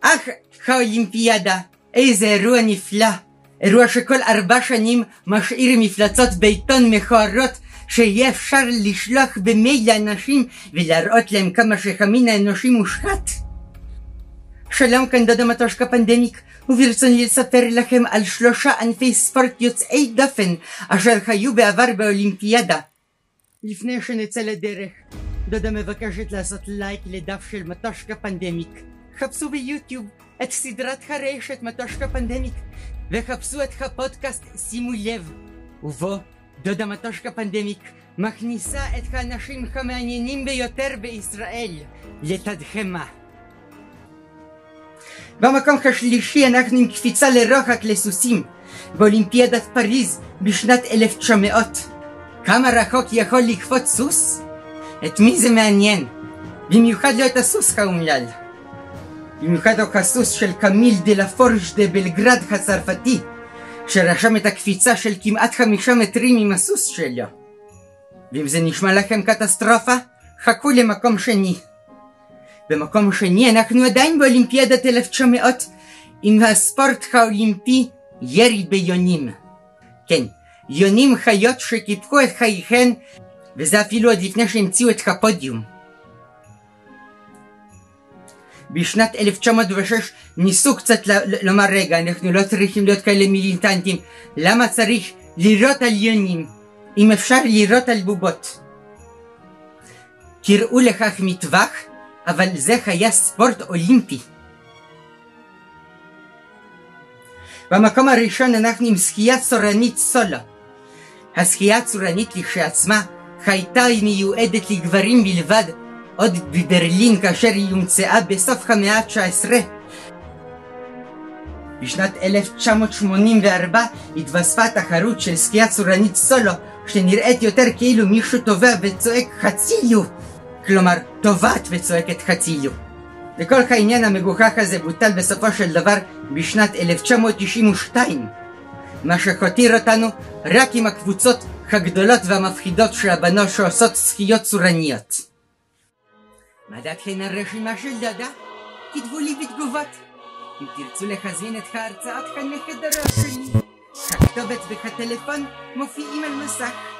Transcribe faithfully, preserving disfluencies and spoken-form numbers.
אך האולימפיאדה, איזה אירוע נפלא. אירוע שכל ארבע שנים משאיר מפלצות בעיתון מכוערות שיהיה אפשר לשלוח במייל לאנשים ולהראות להם כמה שהמין האנושי מושחת. שלום, כאן דודה מטושקה פנדמיק, וברצוני לספר לכם על שלושה ענפי ספורט יוצאי דופן אשר היו בעבר באולימפיאדה. לפני שנצא לדרך, דודה מבקשת לעשות לייק לדף של מטושקה פנדמיק. חפשו ביוטיוב את סדרת הרשת מטושקה פנדמיק וחפשו את הפודקאסט שימו לב, ובו דודה מטושקה פנדמיק מכניסה את האנשים המעניינים ביותר בישראל לתדהמה. במקום השלישי אנחנו עם קפיצה לרוחק לסוסים באולימפיאדת פריז בשנת אלף תשע מאות. כמה רחוק יכול לקפוץ סוס? את מי זה מעניין? במיוחד לא את הסוס האומלל. במיוחד הוא הסוס של קמיל דה לפורש דה בלגרד הצרפתי, שרשם את הקפיצה של כמעט חמישה מטרים עם הסוס שלו. ואם זה נשמע לכם קטסטרופה, חכו למקום שני. במקום שני אנחנו עדיין באולימפיאדת אלף תשע מאות עם הספורט האולימפי ירי ביונים. כן, יונים חיות שקיפחו את חייכן, וזה אפילו עוד לפני שהמציאו את הפודיום. בשנת אלף תשע מאות ושש ניסו קצת לומר, רגע, אנחנו לא צריכים להיות כאלה מיליטנטים, למה צריך לירות על יונים אם אפשר לירות על בובות? קראו לכך מטווח, אבל זה היה ספורט אולימפי. במקום הראשון אנחנו עם שחייה צורנית סולו. השחייה הצורנית לכשעצמה הייתה מיועדת לגברים בלבד, עוד בברלין כאשר היא הומצאה בסוף המאה ה-תשע עשרה. בשנת אלף תשע מאות שמונים וארבע התווספה תחרות של שחייה צורנית סולו, שנראית יותר כאילו מישהו טובע וצועק חצילו, כלומר טובעת וצועקת חצילו. וכל העניין המגוחך הזה בוטל בסופו של דבר בשנת אלף תשע מאות תשעים ושתיים, מה שהותיר אותנו רק עם הקבוצות הגדולות והמפחידות של הבנות שעושות שחיות צורניות. מה דעתכן על רשימה של דודה? כתבו לי בתגובות. אם תרצו להזמין את ההרצאות כאן מחדרו שלי, הכתובת והטלפון מופיעים על מסך.